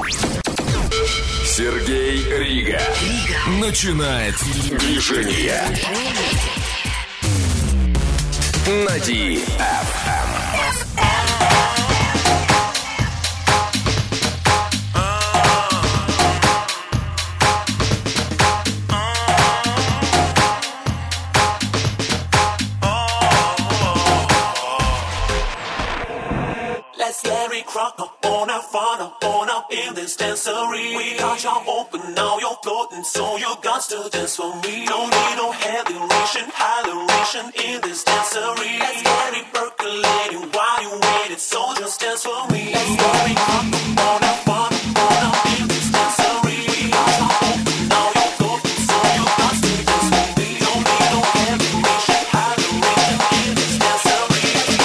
Сергей Рига начинает движение на DFM. Let's get it crunk up on our fun up on up in this dancery. We got y'all open, now you're floating, so you got to dance for me. Don't need no hydration in this dancery. Let's get it percolating while you waiting, so just dance for me. Let's get it crunk up on our fun up in this dancery. We got y'all open, now you're floating, so you got to dance for me. Don't need no hydration in this dancery.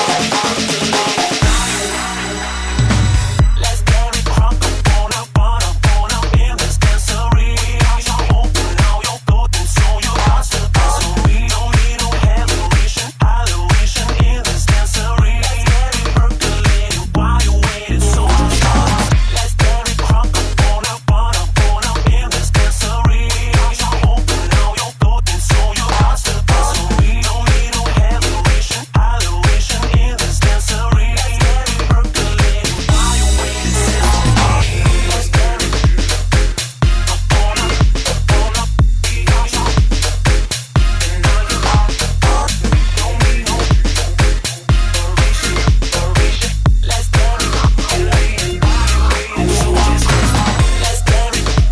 Let's get it crunk up on our fun up in this dancery. We got y'all open, now you're floating, so you got to dance for me. Don't need no hydration in this dancery. Let's get it percolating while you waiting, so just start. Let's get it crunk up on our fun up in this dancery. We got y'all open, now you're floating, so you got to dance for me. Don't need no hydration in this dancery. Let's get it percolating while you waiting, so let's get it up on up. We got y'all, and now you're out. Don't need no hydration. Let's get it percolating while you waiting, so just let's get it up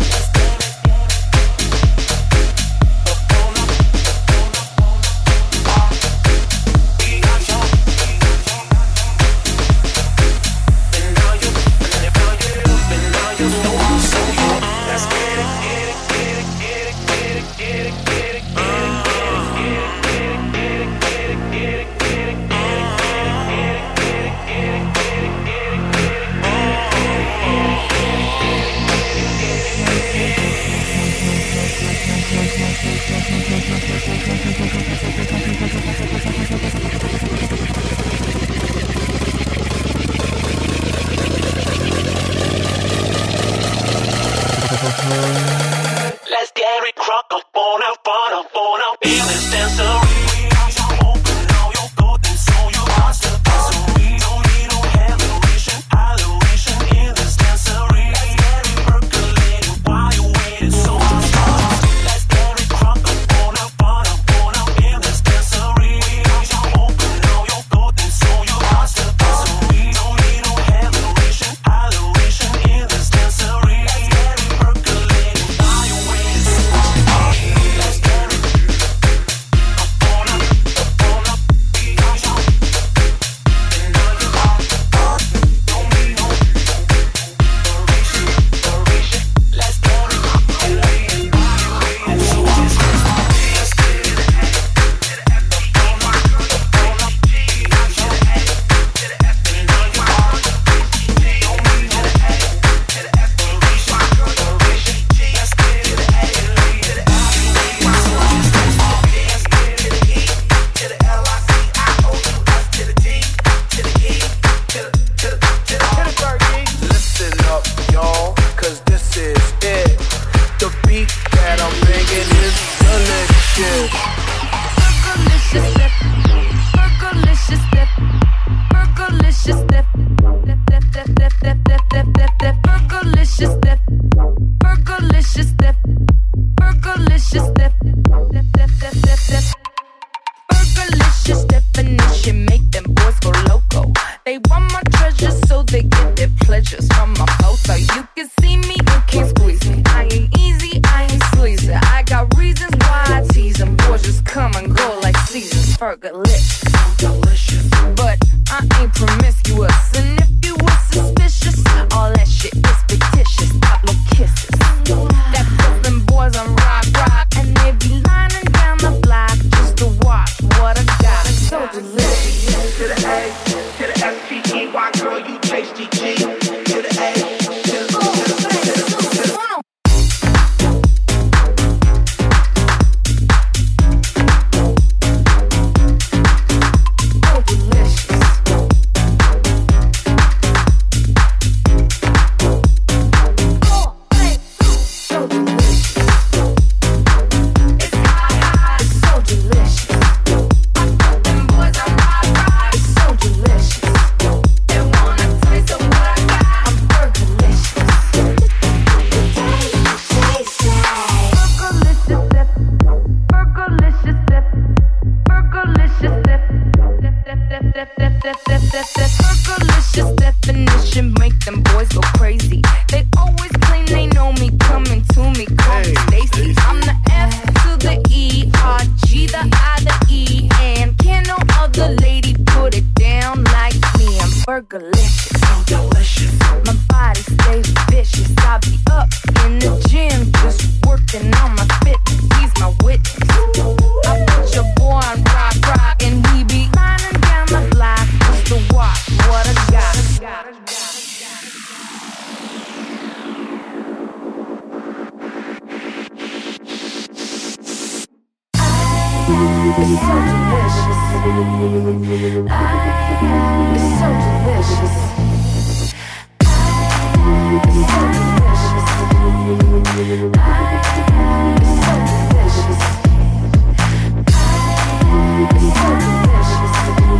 on up. We got y'all, and now you're so let's get it. Let's get it crunk up on our fun up in this dancery. We got y'all open, now you're floating, so you got to dance for me. Don't need no hydration in this dancery. Let's get it percolating while you waiting, so just start. Let's get it crunk up on our fun up in this dancery. We got y'all open, now you're floating, so you got to dance for me. Don't need no hydration in this dancery. Let's get it percolating while you waiting, so let's get it up on up. We got y'all, and now you're out. Don't need no hydration. Let's get it percolating while you waiting, so just let's get it up on up. We got y'all, and now you're out. Don't need no hydration. Let's get it Listen up, y'all, cause this is it. The beat that I'm bringing is delicious. Fergalicious step, Fergalicious step, Fergalicious step, Fergalicious step, Fergalicious step, Fergalicious step, Fergalicious definition make them boys go loco. They want my treasures so they get their pleasures from my photo. You can see me, you can't squeeze me. I ain't easy, I ain't sleazy. I got reasons why I tease them. Boys just come and go like seasons. Fergalicious, delicious, but I ain't promiscuous. And if you were suspicious, all that shit is fictitious. Stop, no kisses. That puts them boys on rock, and they be lining down the block just to watch what I got. It's so delicious. To the A, to the S-T-E-Y, girl, you tasty G. To the A, crazy. They always claim they know me, coming to me, call me Stacy. I'm the F to the E, R, G, the I, the E, and can no other lady put it down like me. I'm burgerlicious, so delicious. My body stays vicious. I be up in the gym, just working on my fitness. He's my witness. I put your boy on rock, and he be lining down the block just to watch what I got. It's so delicious. It's so delicious. It's so delicious. It's so delicious. It's so delicious.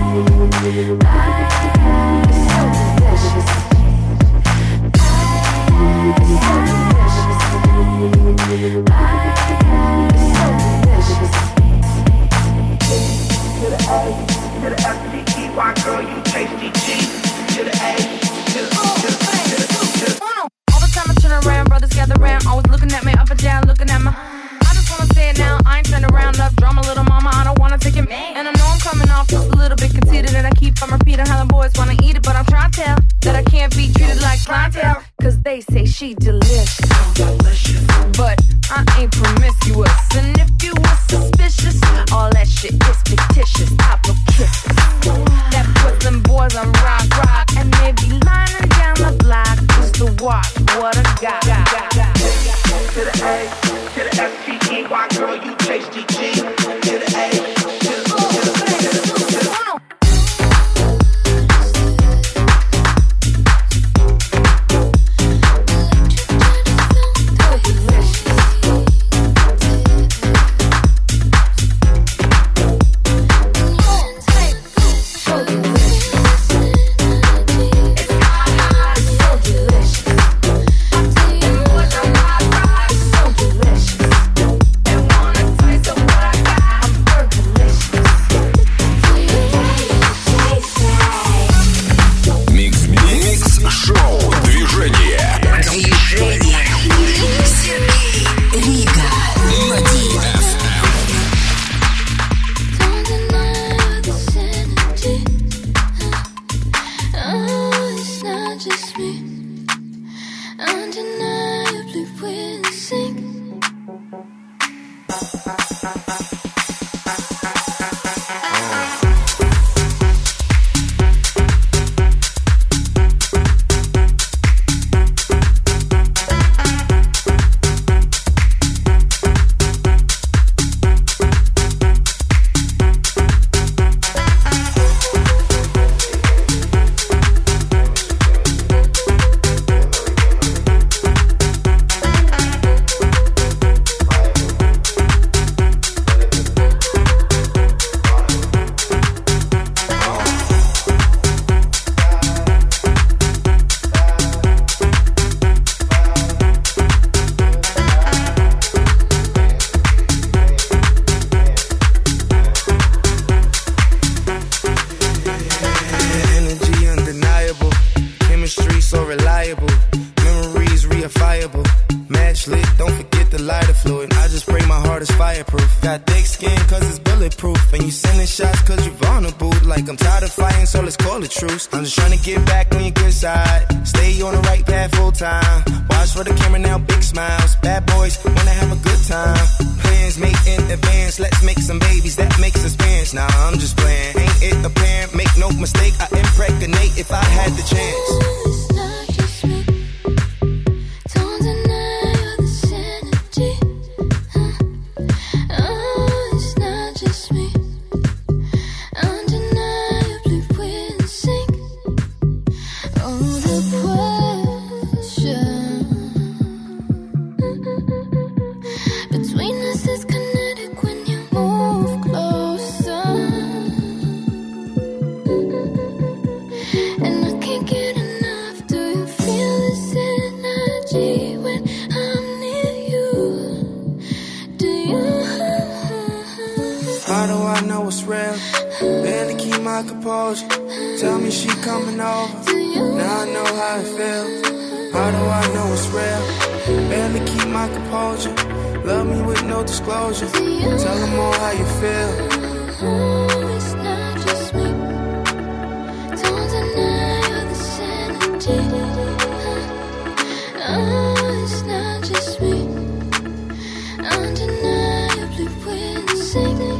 It's so delicious. It's so delicious. To the A, to the F-T-E-Y, girl, you tasty G. To the A, to the all the time I turn around, brothers gather round, always looking at me up and down, looking at my. I just wanna say it now, I ain't turning around, love drama, little mama, I don't wanna take it. And I know I'm coming off just a little bit conceited, and I keep on repeating how the boys wanna eat it, but I'm trying to tell that I can't be treated like clientele, cause they say she delicious. But I ain't promiscuous, and if you were suspicious, all that shit is fictitious. I blow kisses that put them boys on rock, and they be lining down the block just to watch what I got. To the A, to the F-T-E-Y, girl, you tasty G. To the A, to the I'm just trying to get back on your good side. Stay on the right path full time. Watch for the camera now, big smiles. Bad boys wanna have a good time. Plans made in advance. Let's make some babies, that makes us fans. Nah, I'm just playing. Ain't it apparent? Make no mistake, I impregnate if I had the chance. It's not just me. Don't deny all this energy. Oh, it's not just me. Undeniably we're in sync. Oh, the pressure between us is kinetic when you move closer. And I can't get enough. How do I know it's real? Barely keep my composure. Love me with no disclosure. Tell them all how you feel. It's not just me. Don't deny all this energy. It's not just me. Undeniably wincing.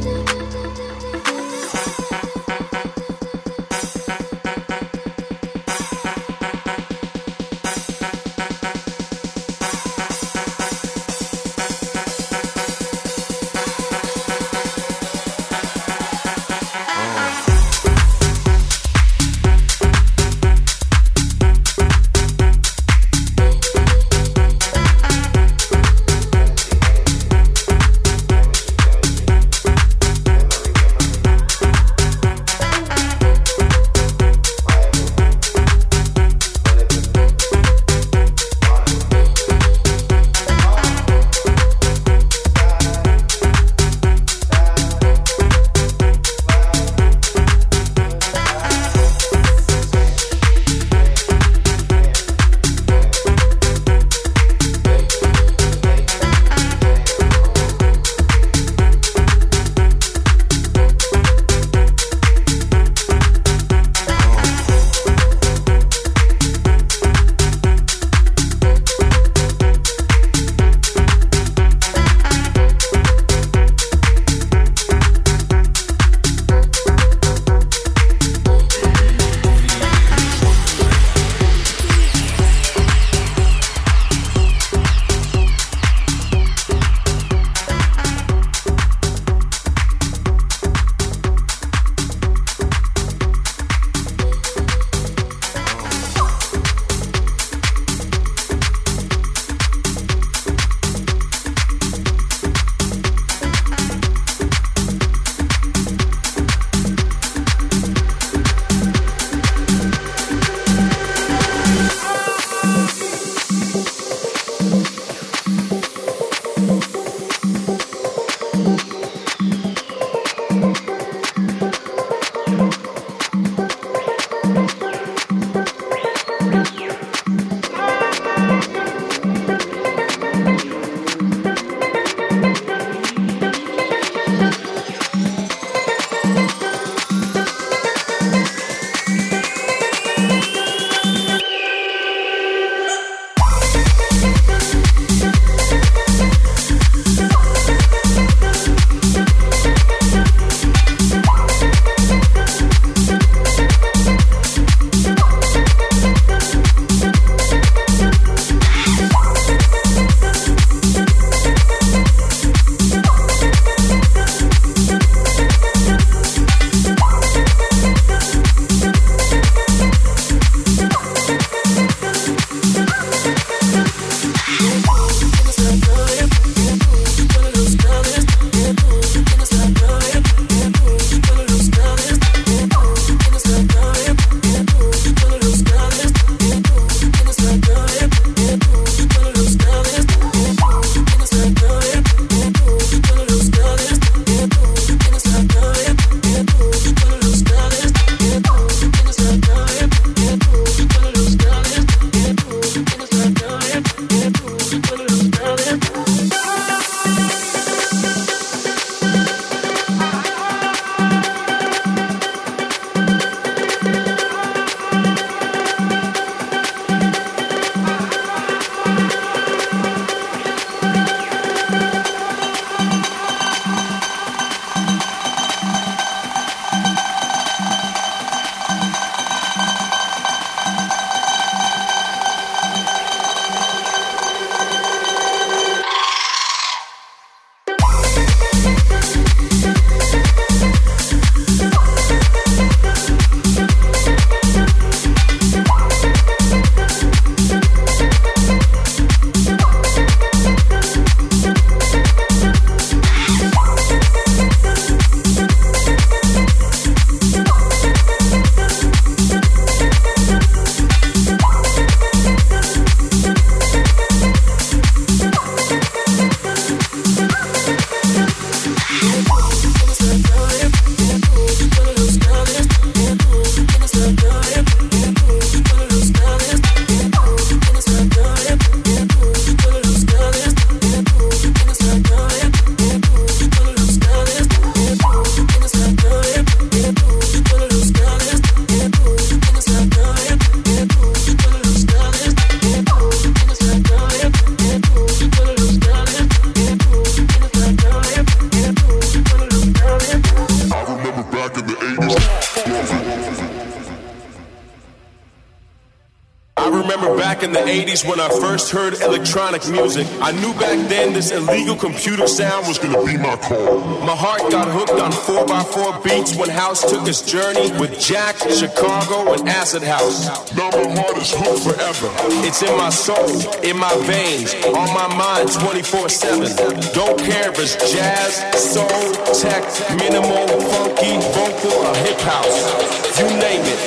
80s when I first heard electronic music. I knew back then this illegal computer sound was gonna be my call. My heart got hooked on 4x4 beats when house took its journey with Jack, Chicago, and Acid House. Now my heart is hooked forever. It's in my soul, in my veins, on my mind 24/7. Don't care if it's jazz, soul, tech, minimal, funky, vocal, or hip house. You name it.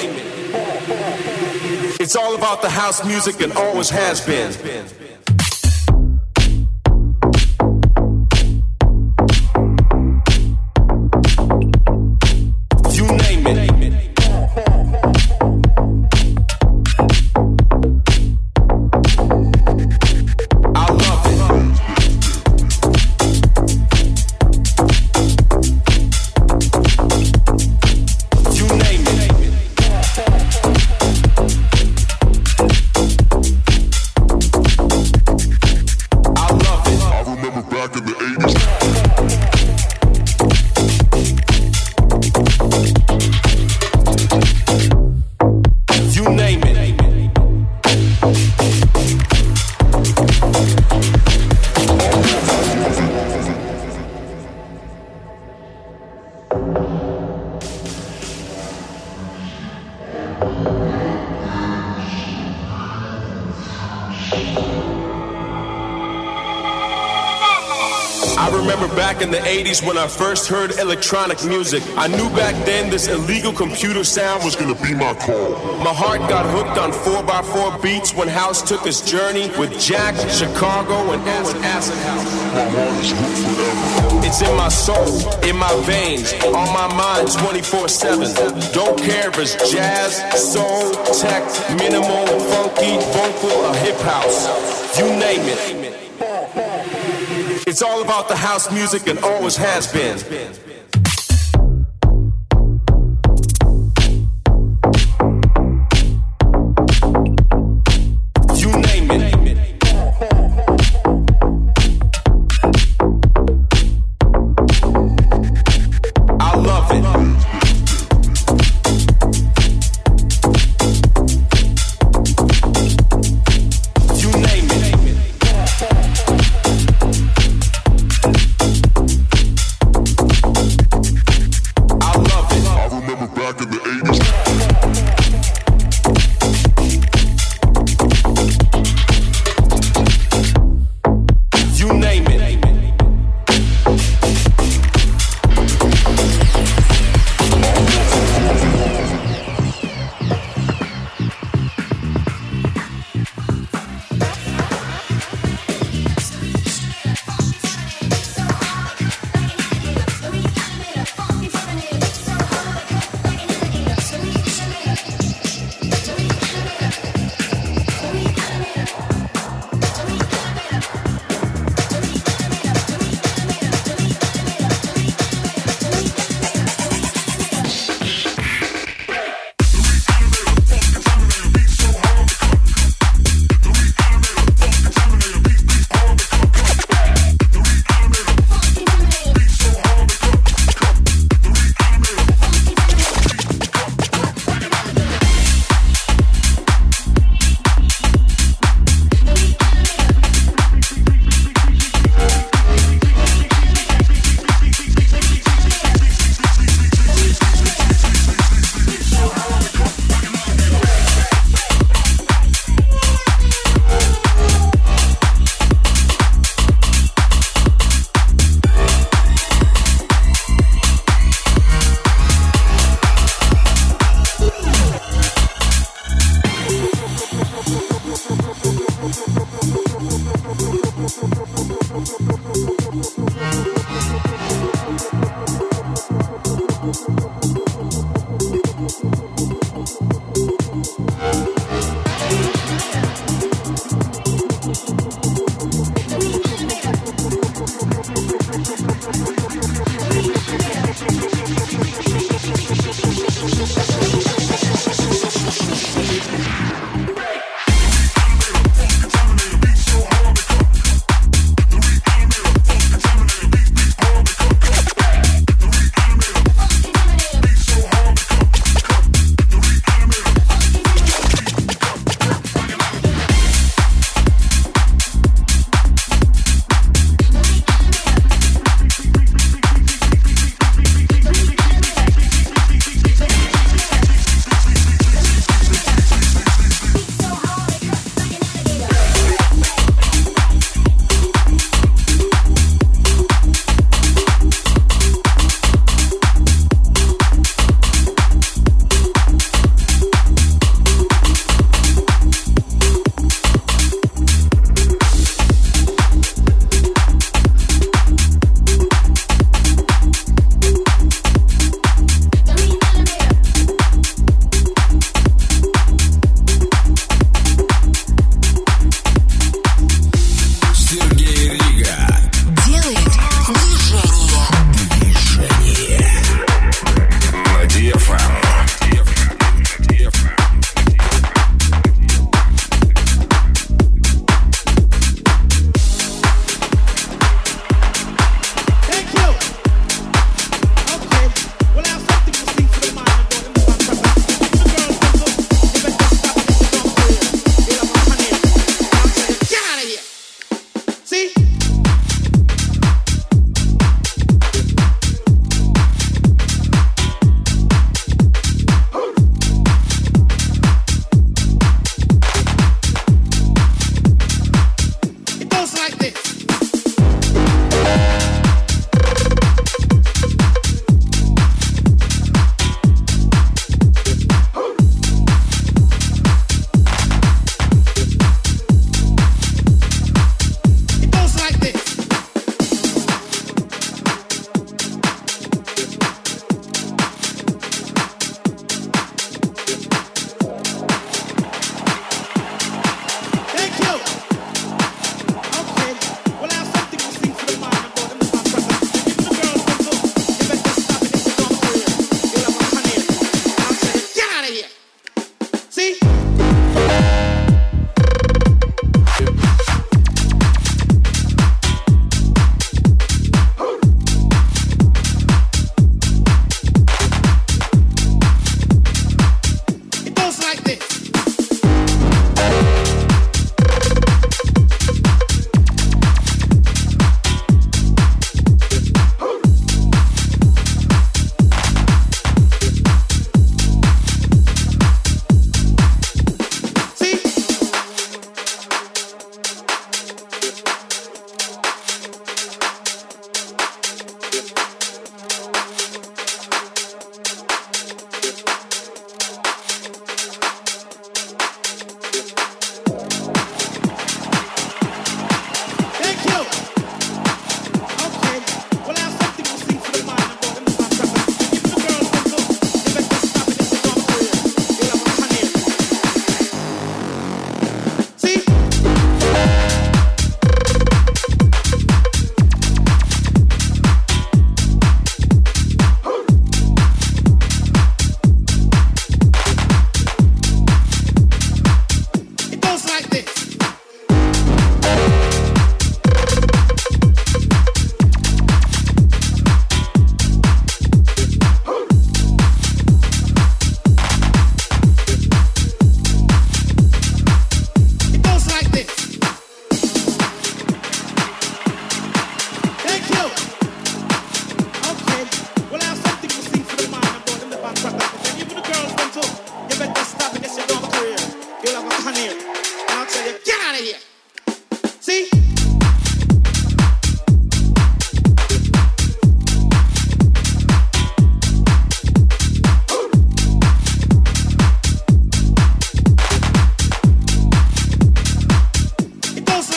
It's all about the house music and always has been. You name it. I love it. You name it. Back in the 80s. You name it. I remember back in the 80s when I first heard electronic music. I knew back then this illegal computer sound was gonna be my call. My heart got hooked on 4x4 beats when house took its journey with Jack, Chicago, and Acid House. My heart is hooked forever. It's in my soul, in my veins, on my mind 24/7. Don't care if it's jazz, soul, tech, minimal, funky, vocal, or hip house. You name it. It's all about the house music and always has been. You name it. I love it. You name it. Back in the 80s. You name it. So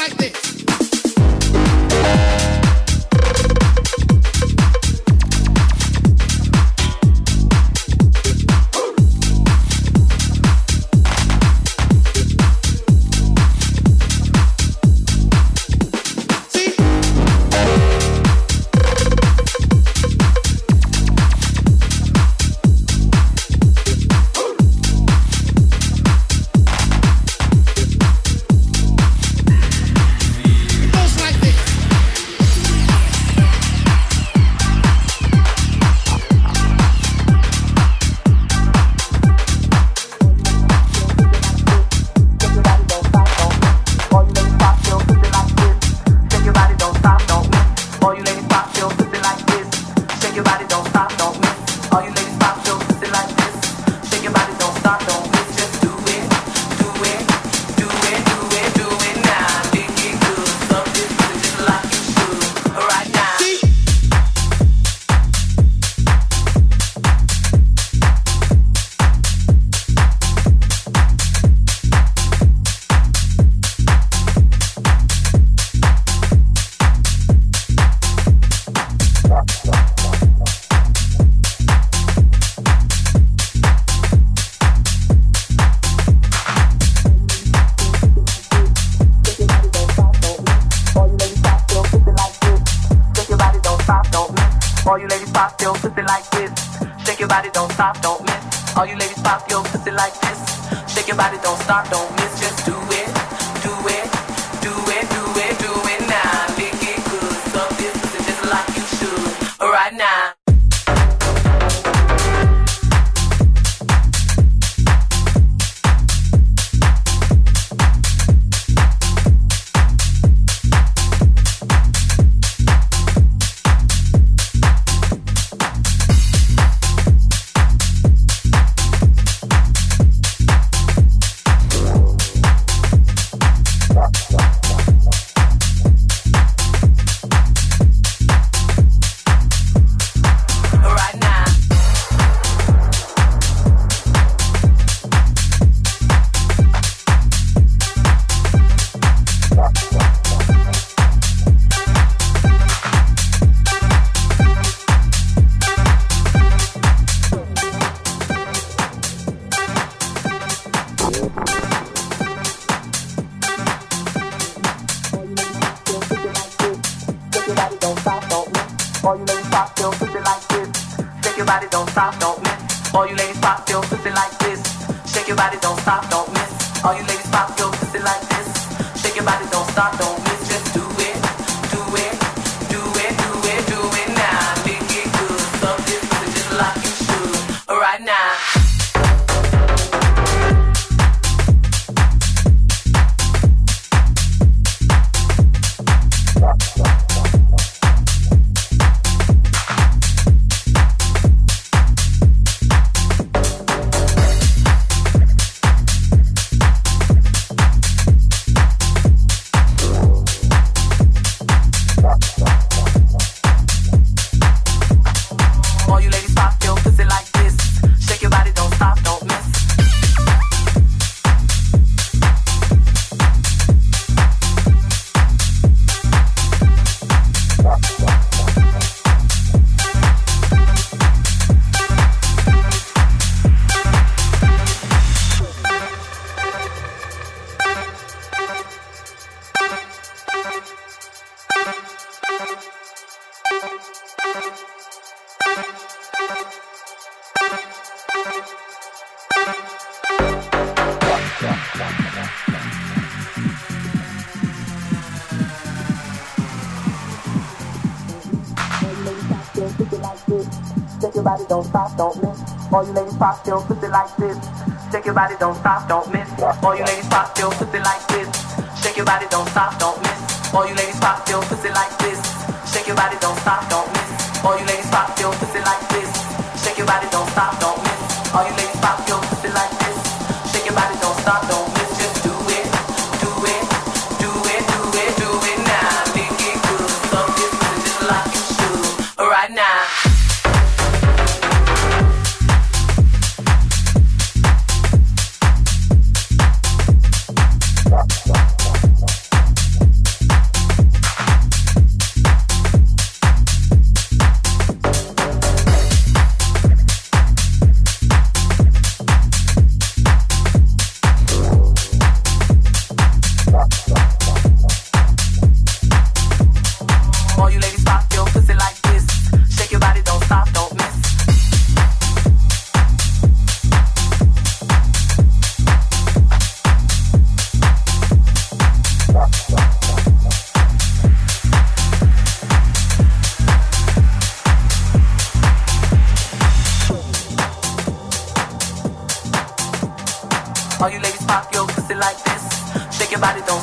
Shake your body, don't stop, don't miss. All you ladies pop your pussy like this. Shake your body, don't stop, don't miss. All you ladies pop your pussy like this. Shake your body, don't stop, don't miss. All you ladies pop your pussy like this. Shake your body, don't stop, don't miss. All you ladies pop your pussy like this. Shake your body, don't stop, don't miss. All you ladies pop your pussy like this. Shake your body, don't stop, don't miss. Just do it, do it, do it, do it, do it now. Make it good, so this is just like you should. Right now.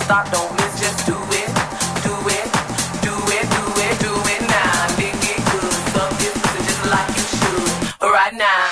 stop, don't miss, just do it, do it, do it, do it, do it now. Lick it good, suck this pussy just like you should, right now.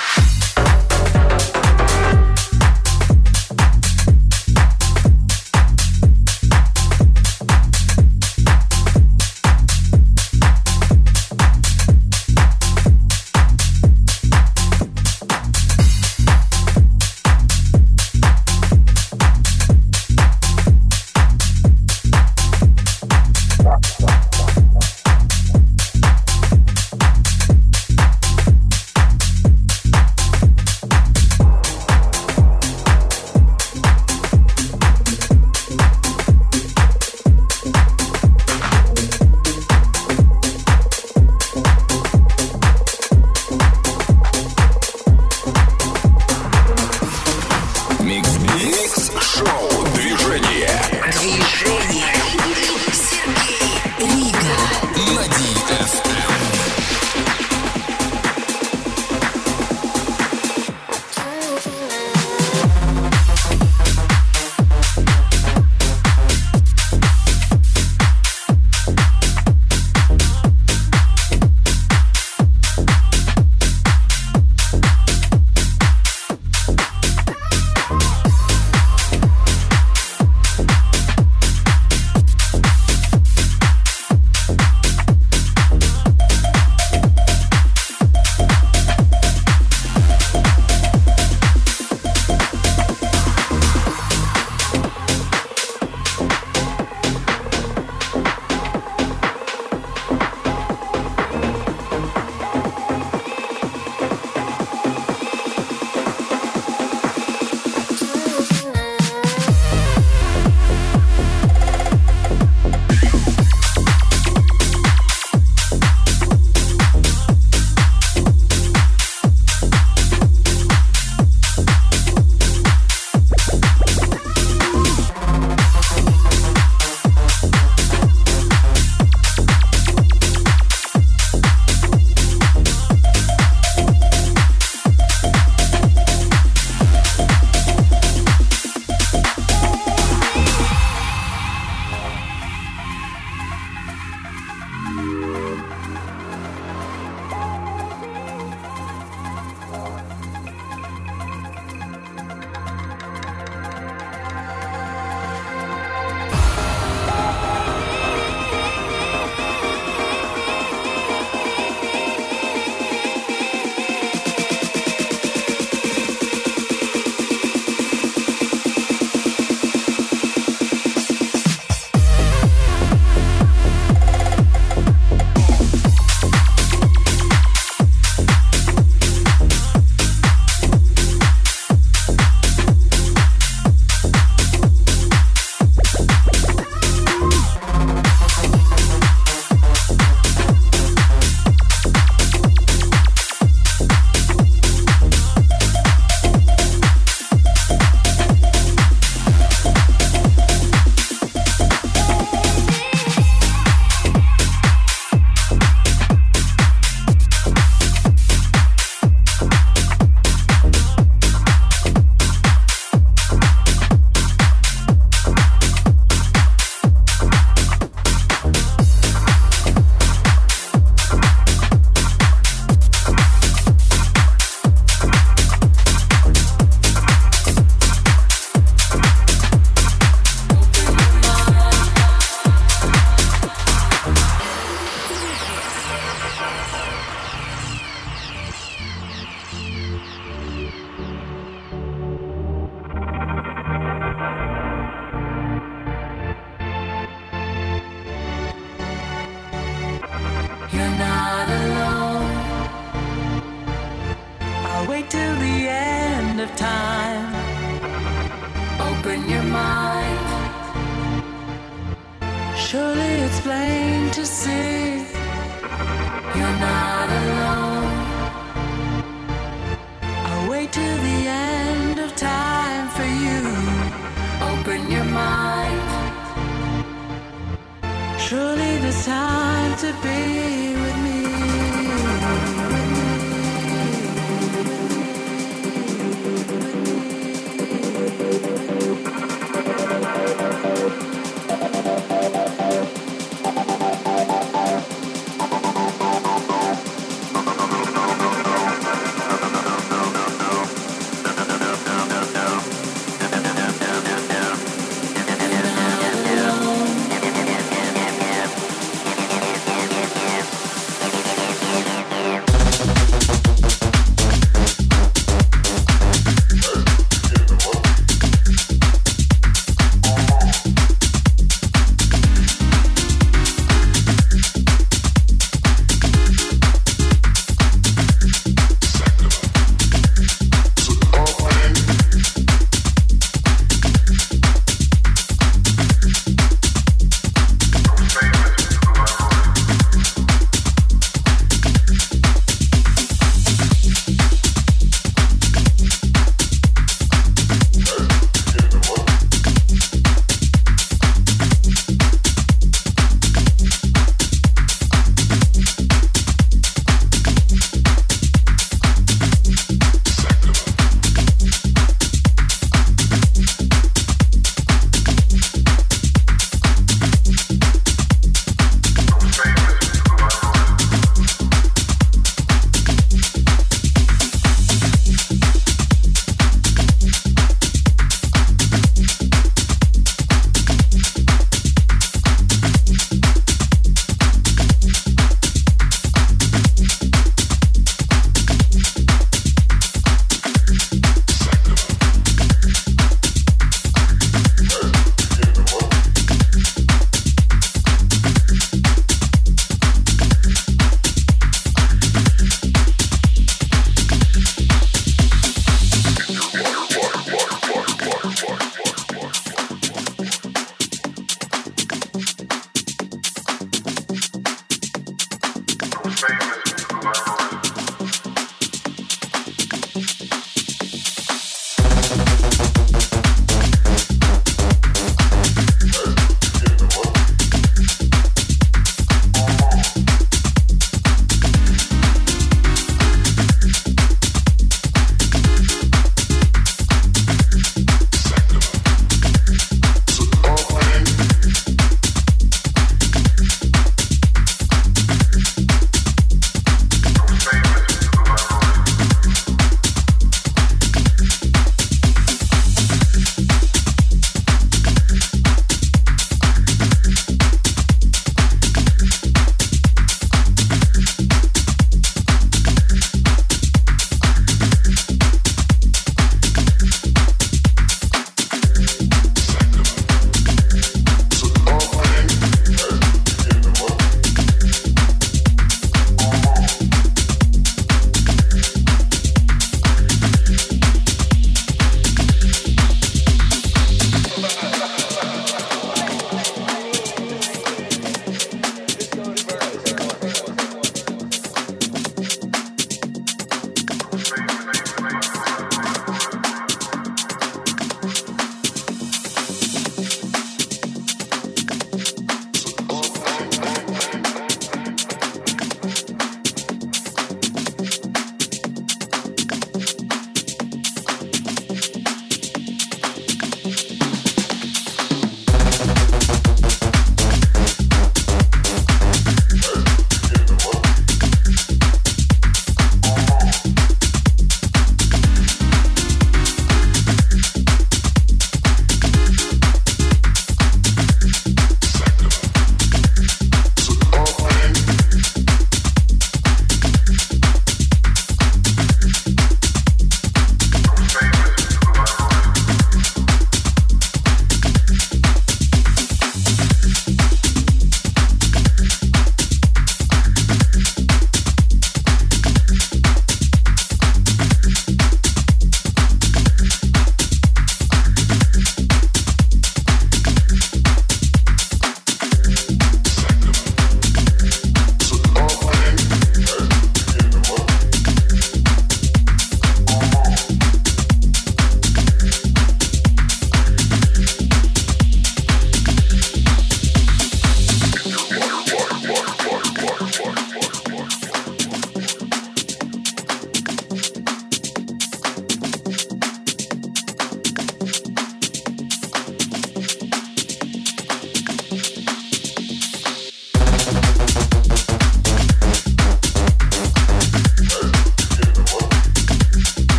Surely there's time to be with me.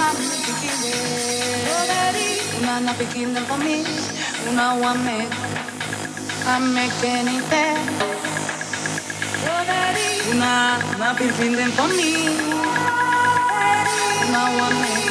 Una napikinda for me, una wame, I make anything. Una napikinda for me, una wame.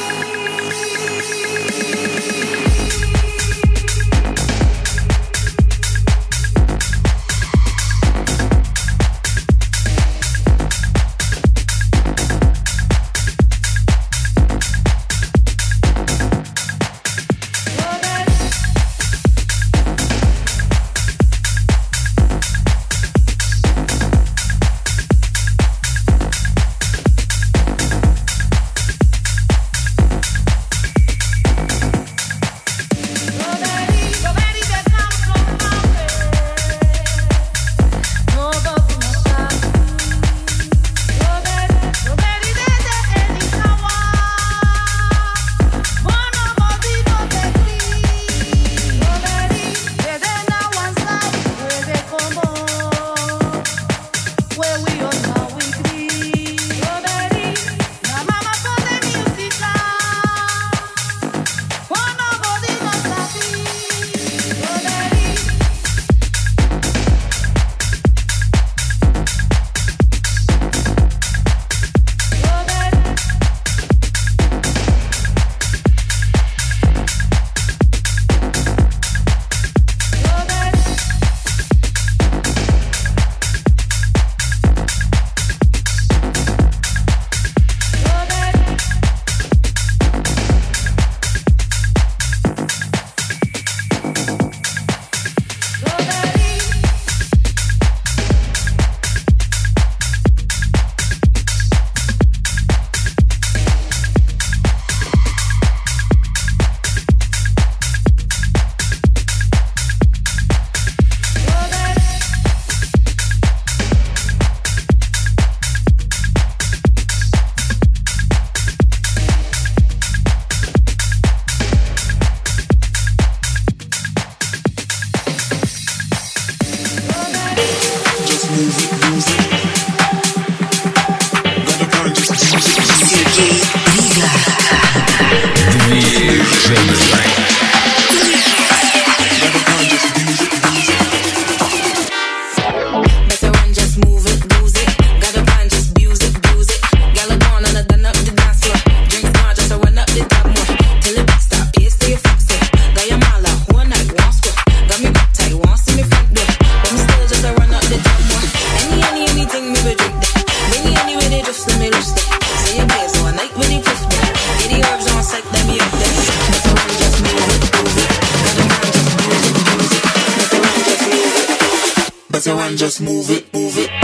Just move it, move it.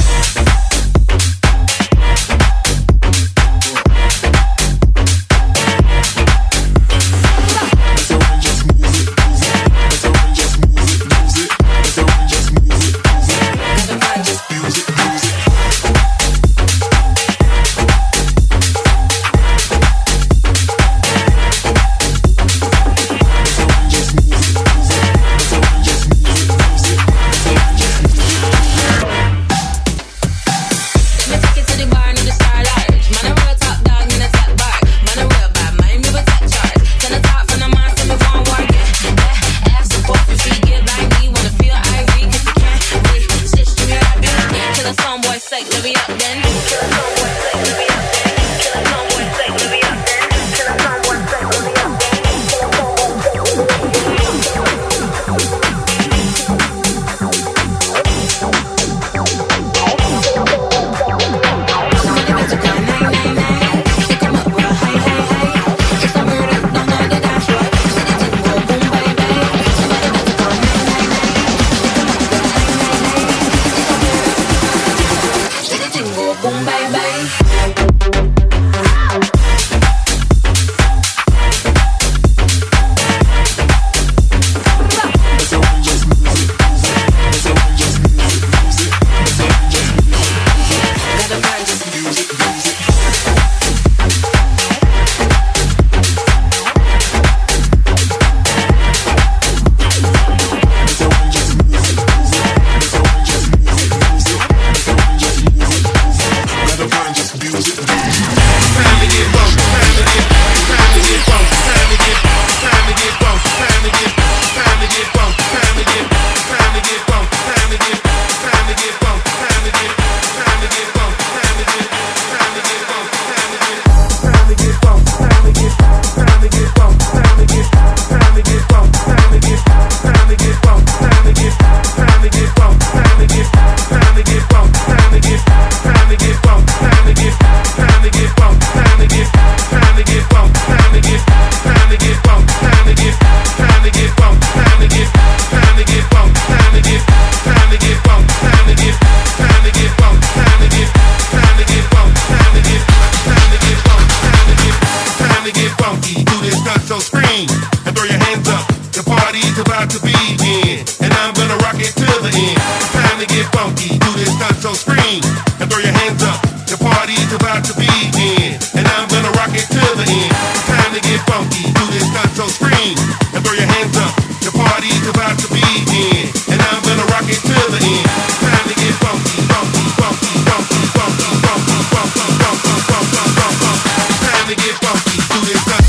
funky, do this stunt, so scream and throw your hands up. The party's about to begin, and I'm gonna rock it till the end. Time to get funky, do this stunt, so scream and throw your hands up. The party's about to begin, and I'm gonna rock it till the end. Time to get funky, funky, funky, funky, funky, funky, funky, funky, funky, funky. Time to get funky, do this stunt.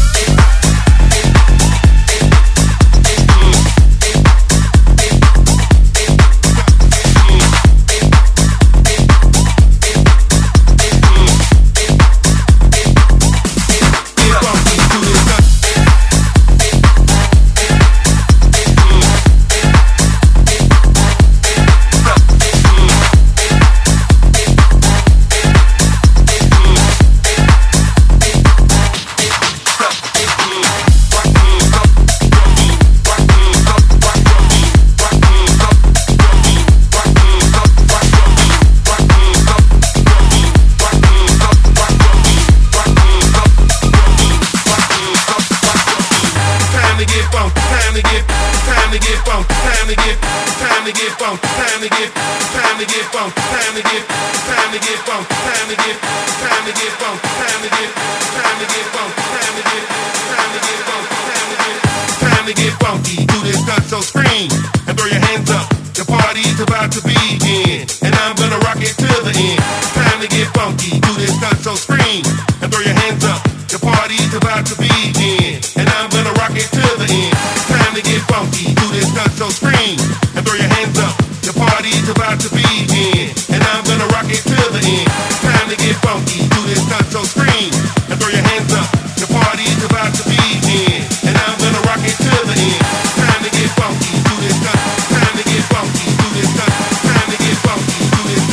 Do this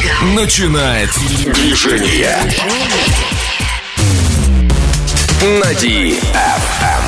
начинает движение. На DFM.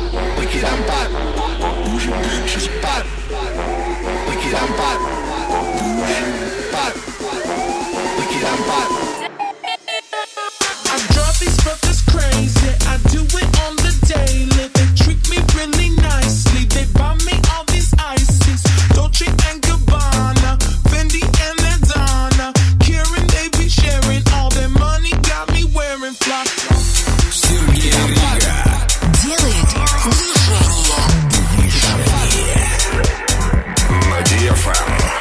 Wicked and bad. Bad. Wicked and bad. Bad. Wicked and bad. I drive these fuckers crazy. I do it on the daily. They treat me really nicely. They buy me all these ices. Dolce and Gabbana, Fendi and Adana. Kieran, they be sharing all their money. Got me wearing fly. Сергей Рига делает движение. на DFM.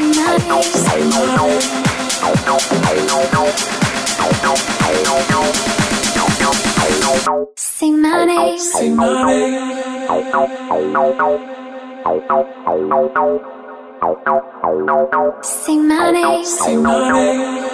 Say my name. Say my name. Say my name. Say my name.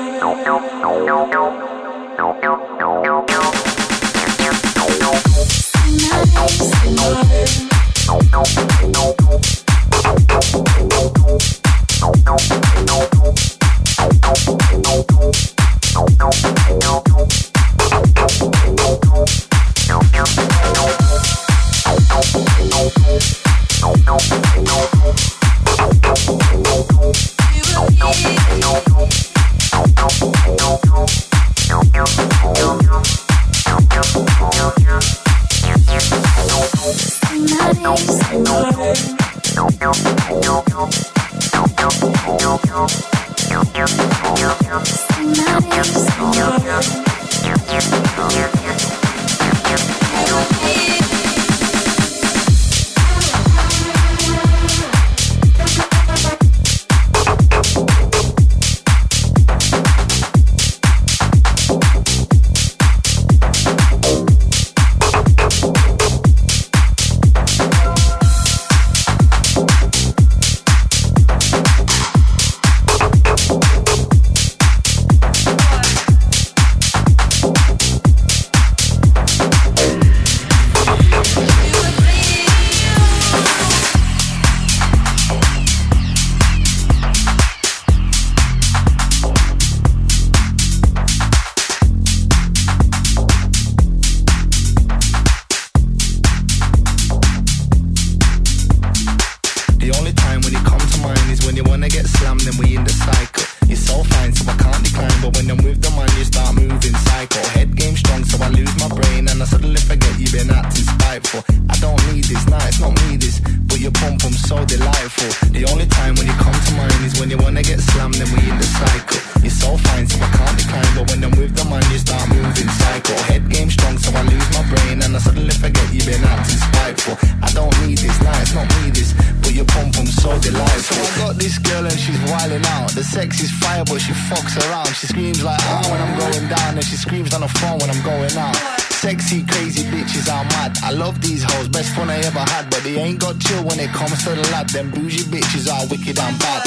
Them bougie bitches are wicked and bad.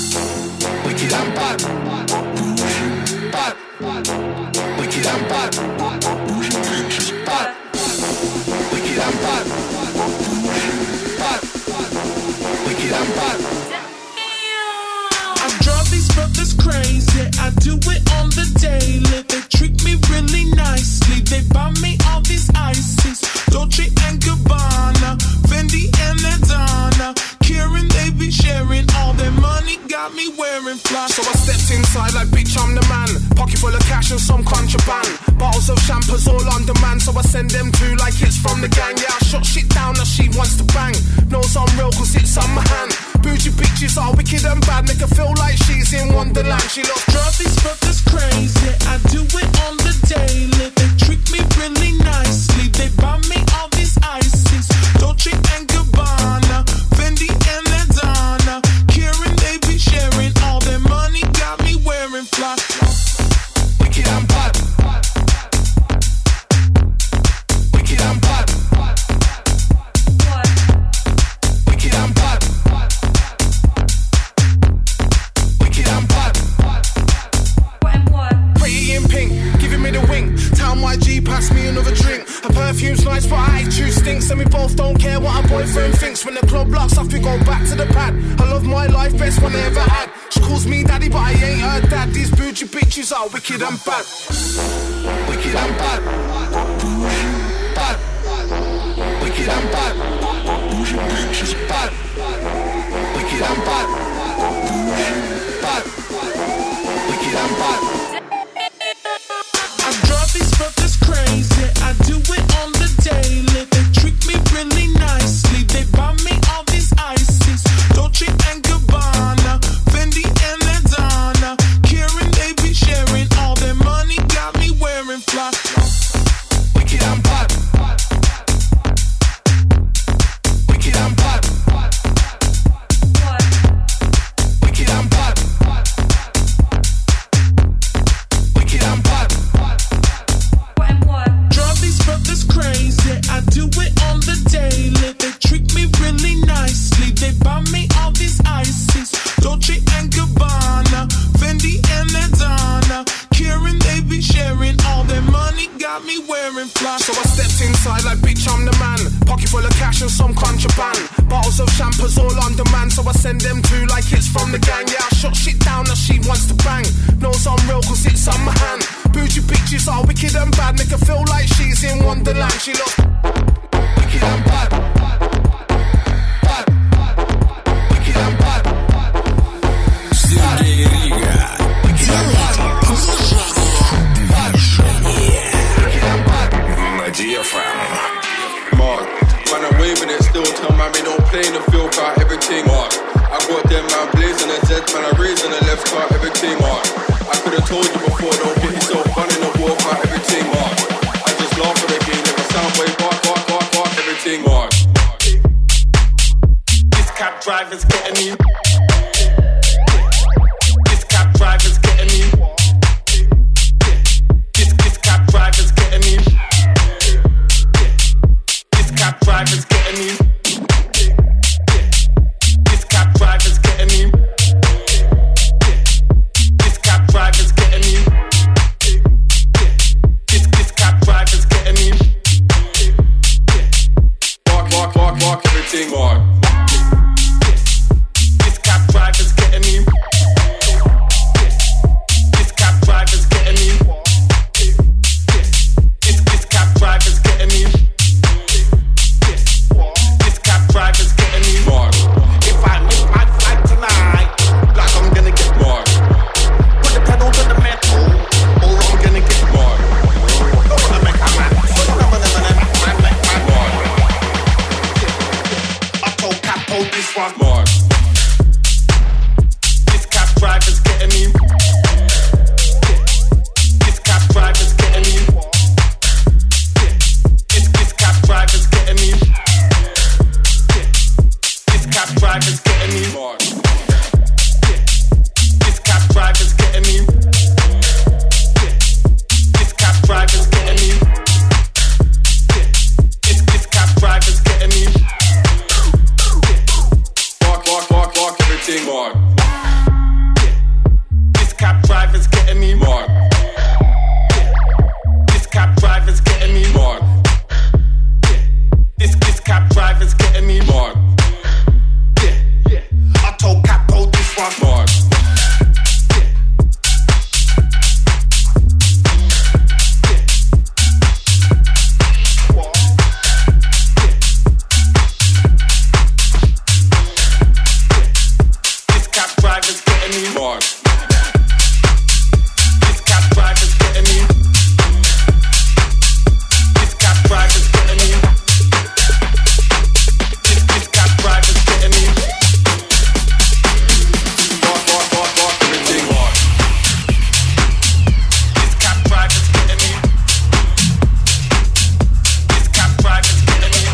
Wicked and bad. Bad. Wicked and bad. Bougie bitches bad. Wicked and bad. Bad. Wicked and bad. I drive these brothers crazy. I do it on the daily. They treat me really nicely. They buy me all these ices. Dolce and Gabbana, Fendi and Adana. Kieran, they be sharing all their money, got me wearing fly. So I stepped inside like, bitch, I'm the man. Pocket full of cash and some contraband. Bottles of champers all on demand, so I send them to like it's from the gang. Yeah, I shut shit down as she wants to bang. Knows I'm real cause it's on my hand. Bougie bitches are wicked and bad, make her feel like she's in Wonderland. She loves drive these brothers crazy. I do it on the daily. They treat me really nicely. They buy me all these ices. Dolce and Gabbana, Fendi and Adana. Kieran, they be sharing all their money, got me wearing fly. Wicked and bad. Wicked and bad. Wicked and bad. Wicked and bad. pretty in pink, giving me the wink. Town YG, pass me another drink. Her perfume's nice, but her attitude stinks. And we both don't care what our boyfriend thinks. When the club locks off, we go back to the pad. I love my life, best one I ever had. She calls me daddy, but I ain't her dad. These bougie bitches are wicked and bad. Wicked and bad. Bad. Wicked and bad. Bougie bitches bad. Wicked and bad. Bad. Wicked and bad. I drive these brothers crazy. I do it on the daily. They treat me really nicely. They buy me all these ices. Dolce and Gabbana, Fendi and Adana. Kieran, they be sharing all their money. Got me wearing fly. Wicked and bad. Wicked and bad. Gabbana, Fendi and Adana. Karen, they be sharing all their money, got me wearing fly. So I stepped inside like, bitch, I'm the man. Pocket full of cash and some contraband. Bottles of champers all on demand, so I send them to like it's from the gang. Yeah, I shut shit down as she wants to bang. Knows I'm real cause it's on my hand. Bougie bitches are wicked and bad, make her feel like she's in Wonderland. She looks wicked and bad. Bad. Wicked and bad. Сергей Рига. На DFM. Mark, man, I'm waving it still. Tell man me don't play in the field car, everything. Mark, I got them man blazing a Z, man, I raising the left car, everything. Mark, I could have told you before, don't get yourself gunning the war car, everything. Mark, I just laugh at the game, if I sound way bark, everything. Mark, This cab driver's getting me. This cab driver's getting me. This cab driver's getting me. This cab driver's getting me. This cab driver's getting me. This cab driver's getting me. This cab driver's getting me. bark, everything. Mark, This cab driver's getting me. This cab driver's getting me. This cab driver's getting me. This cab driver's getting me. Mark, If I miss my flight tonight, like I'm gonna get Mark, put the pedal to the metal, or I'm gonna get Mark, I'm gonna make a man. Mark, I told Capo this one. Mark, This cab driver's getting me. This cab driver's getting me. This cab driver's getting me. This cab driver's getting me. Mark, This cab driver's getting me. This cab driver's getting me. This cab driver's getting me. bark, everything. Mark, This cab driver's getting me. Mark, This cab driver's getting me. Mark, This cab driver's getting me. Mark, I told Capo this one. Mark, This cab driver's getting me. Mark, This cab driver's getting me. This cab driver's getting me. This cab driver's getting me. bark, everything. Mark, This cab driver's getting me. This cab driver's getting me.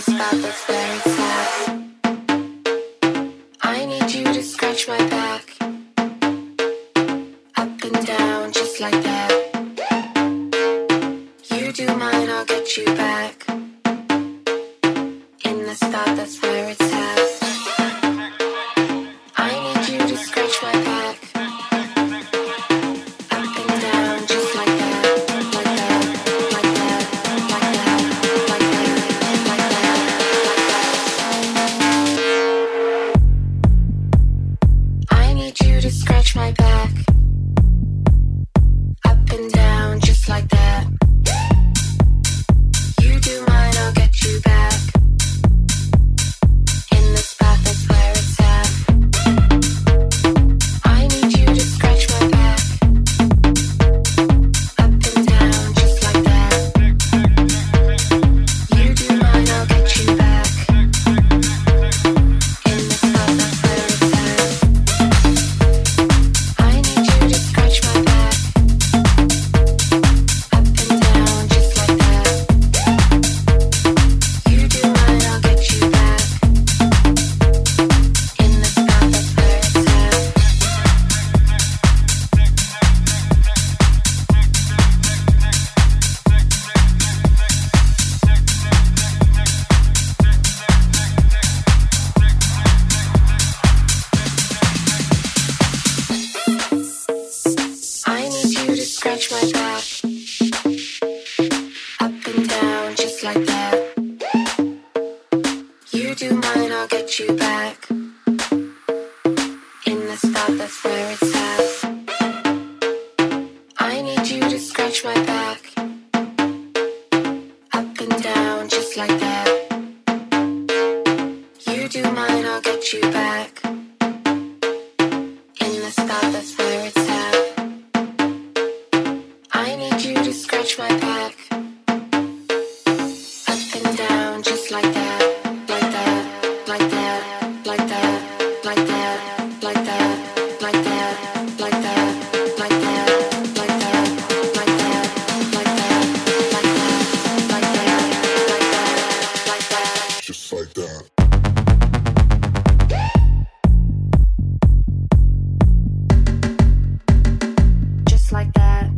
spot that's where it's at. I need you to scratch my back. Up and down, just like that. You do mine, I'll get you back. In the spot that's where it's at. I need you to scratch my back. Up and down, just like that. Like that, like that, like that, like that, like that, like that. I need you to scratch my back. Up and down, just like that. You do mine, I'll get you back. In the spot that's where it's at. I need you to scratch my back. Up and down, just like that. You do mine, I'll get you back. In the spot that's where it's at. I need you to scratch my back. Up and down, just like that. You do mine, I'll get you back. In the spot that's where it's at. I need you to scratch my back. Up and down, just like that. You do mine, I'll get you back. In the spot that's where it's at. I need you to scratch my back. Up and down, just like that. You do mine, I'll get you back. In the spot that's where it's at. I need you to scratch my back. Up and down, just like that. Like that, like that, like that, like that, like that, like that, like that, like that, like that, like that, like that, like that, like that, like that. Just like that. Just like that.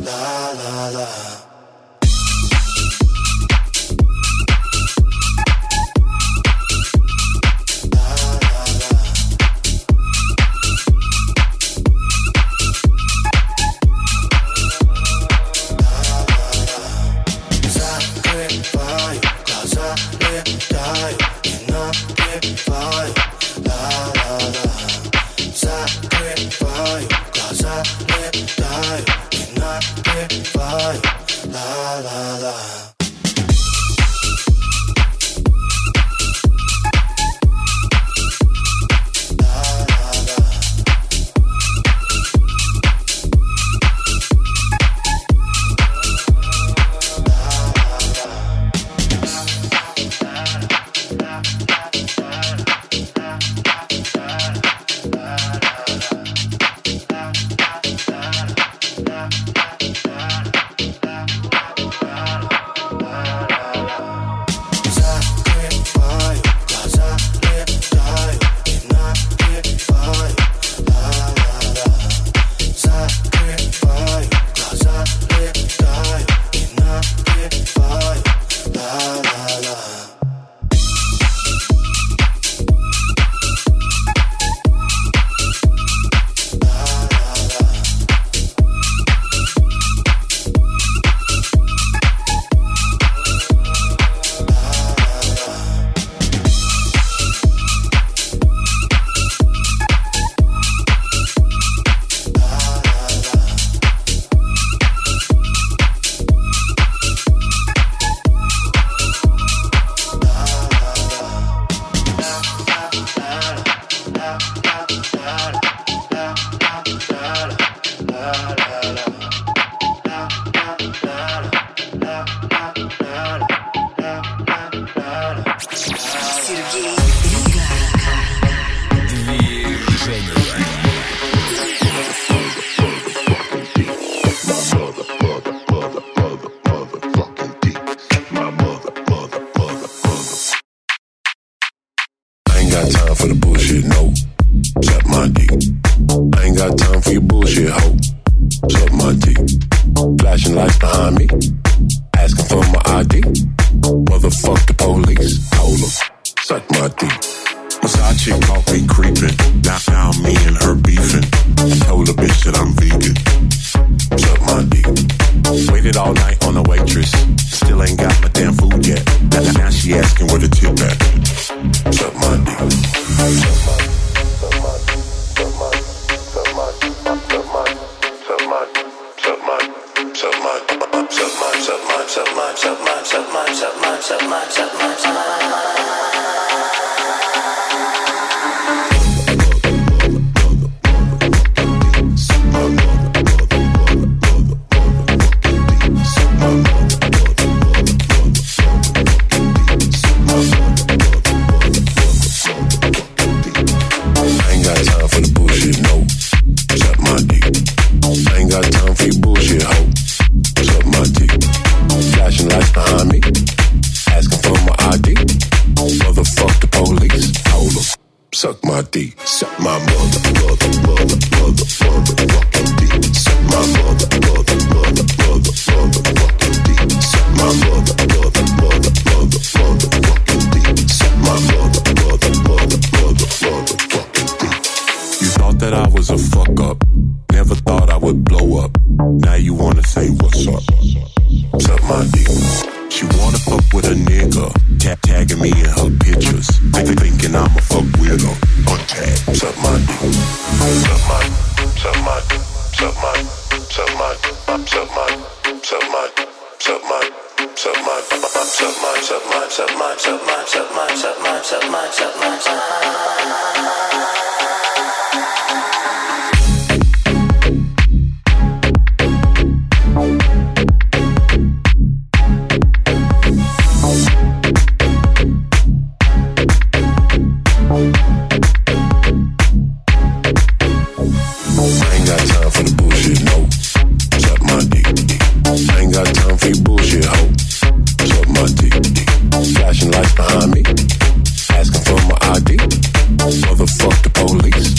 Flashing lights behind me, asking for my ID. Motherfuck the police.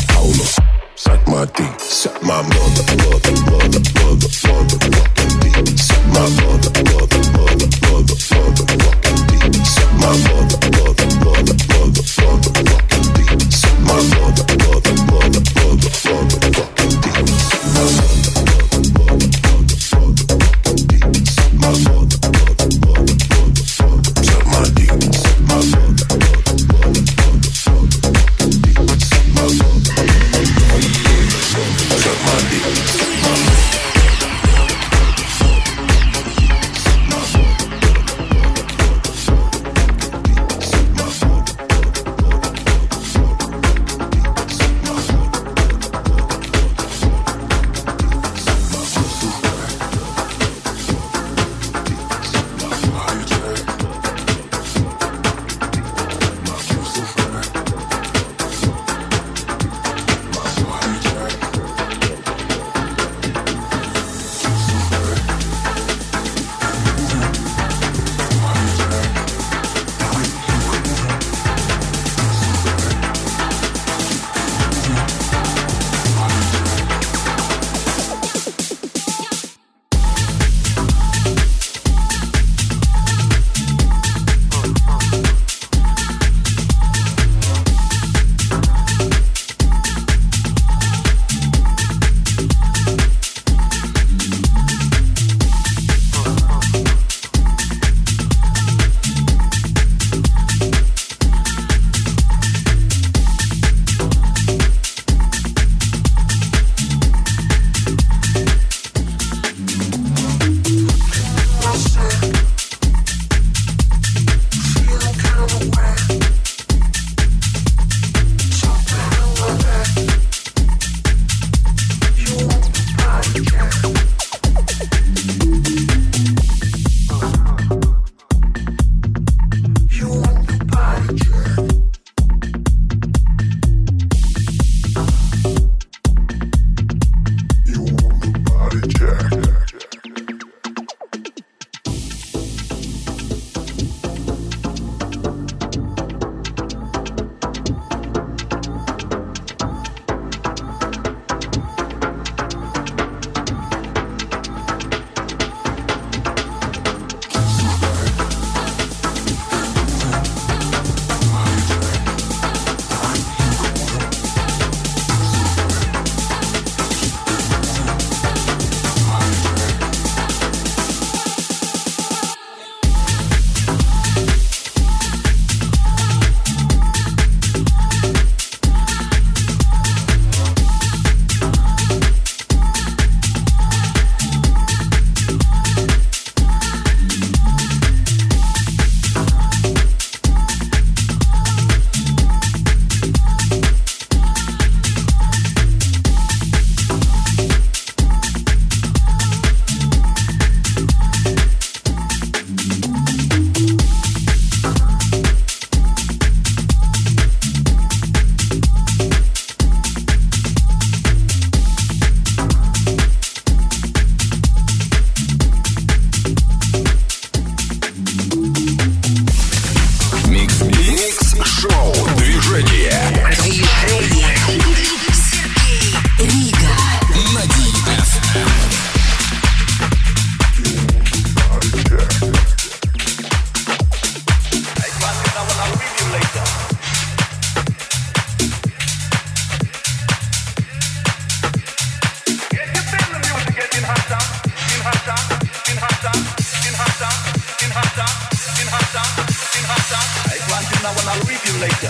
I'll read you later.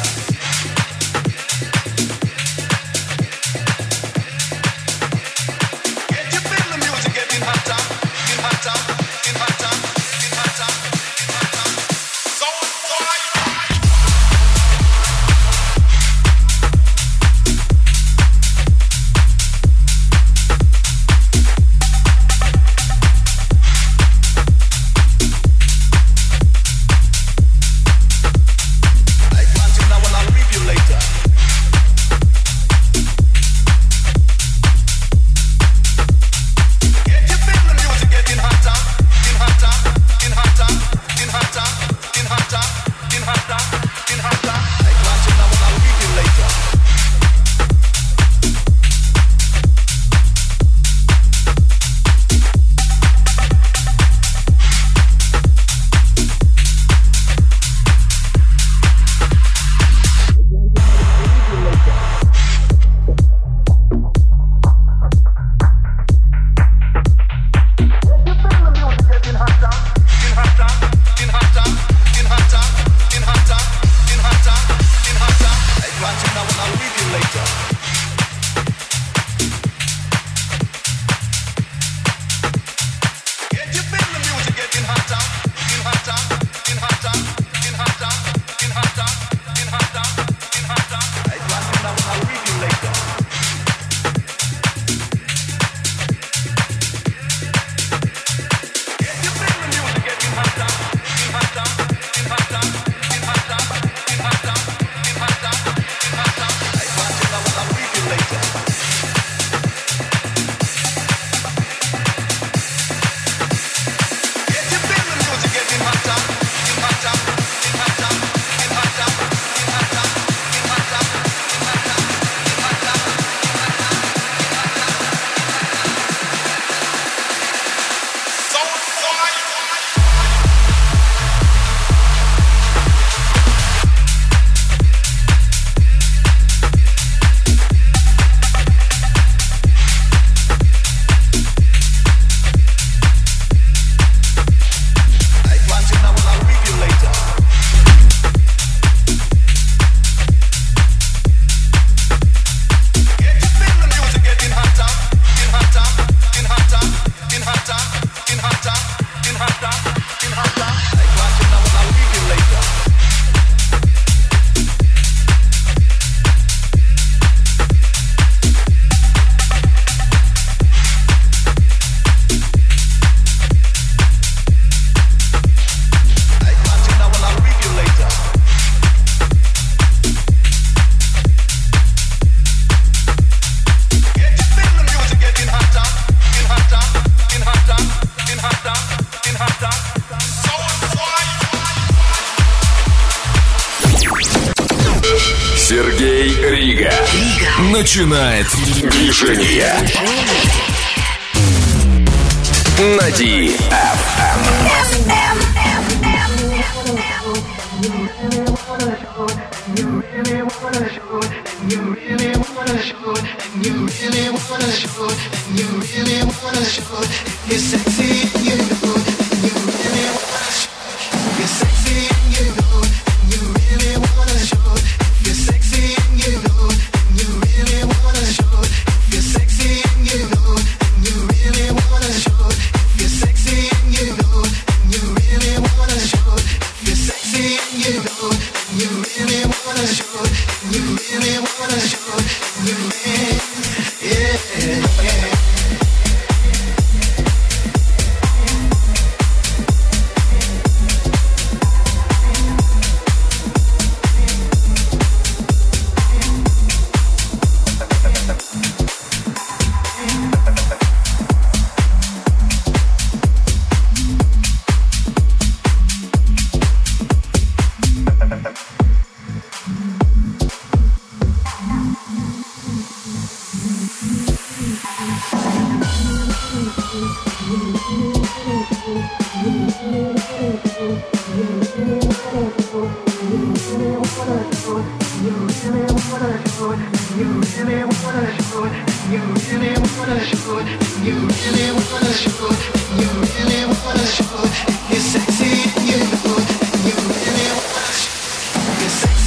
Can't you feel the music getting hotter, getting hotter, getting hotter, getting hotter, getting hotter? So why? Сергей Рига начинает движение на DFM. You're sexy and you know it, and you really wanna show it. You're sexy.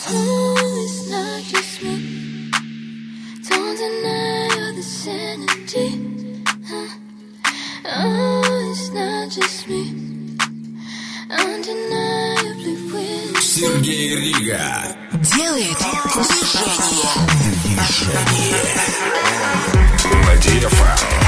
It's not just me. Don't deny all this energy. Oh, it's not just me. Undeniably with Сергей Рига делает движение. На DFM.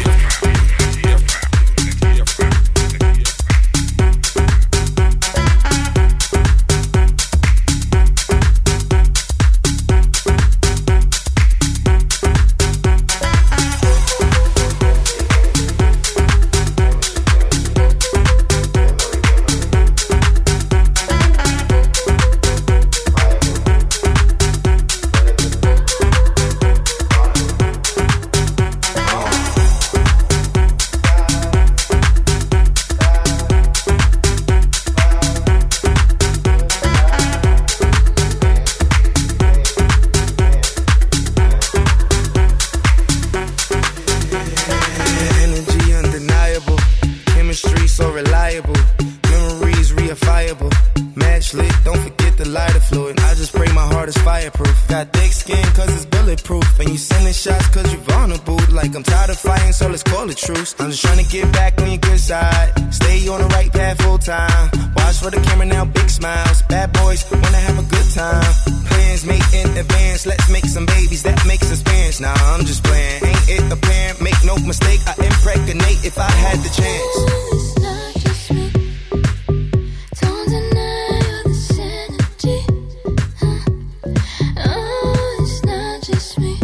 I'm just trying to get back on your good side. Stay on the right path full time. Watch for the camera now, big smiles. Bad boys wanna have a good time. Plans made in advance. Let's make some babies, that makes us parents. Nah, I'm just playing. Ain't it apparent? Make no mistake, I impregnate if I had the chance. it's not just me. Don't deny all this energy. Oh, it's not just me.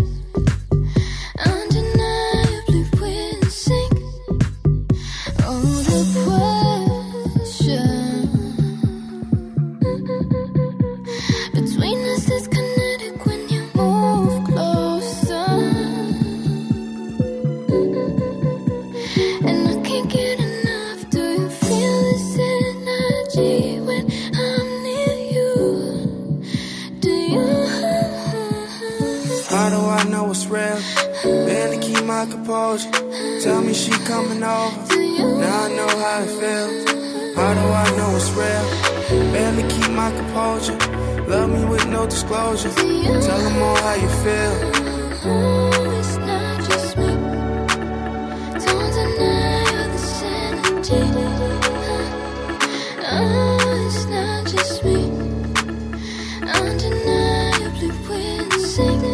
Undeniably we're in sync. Oh, the pressure between us is kinetic when you move closer. And I can't get enough. Do you feel this energy when I'm near you? Do you? How do I know it's real? Barely keep my composure. Tell me she coming over. Now I know how it feels. How do I know it's real? Barely keep my composure. Love me with no disclosure. Tell them all how you feel. Oh, it's not just me. Don't deny all this energy. Oh, it's not just me. Undeniably we're in sync.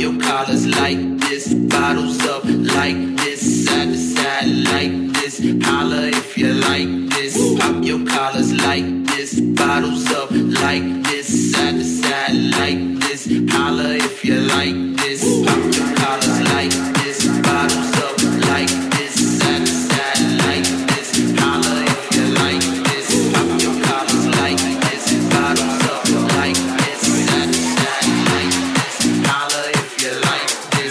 your collars like this, bottles up like this, side to side like this. Holla if you like this. Pop your collars like this, bottles up like this, side to side like this. Holla if you like this. Pop your collars like this, bottles up like this, side to side like this. Holla if you like this. Pop your collars like this, bottles up like this, side to side like this. Holla if you like this.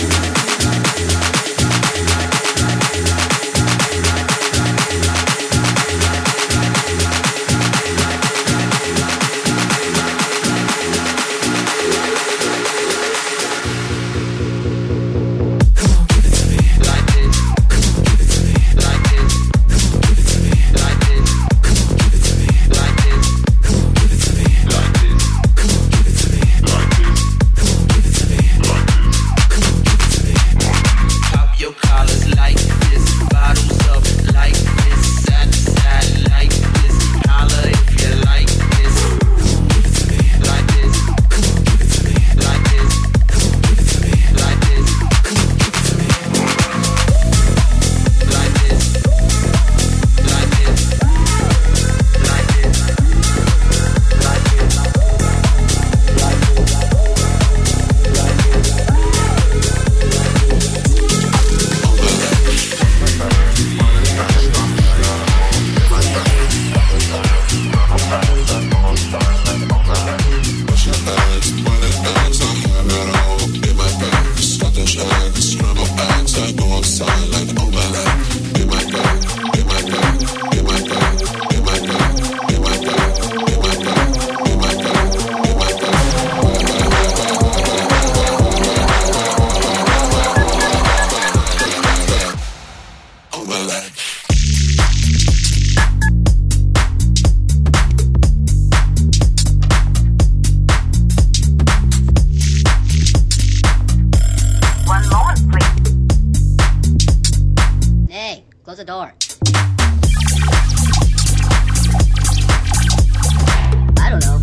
Close the door. I don't know.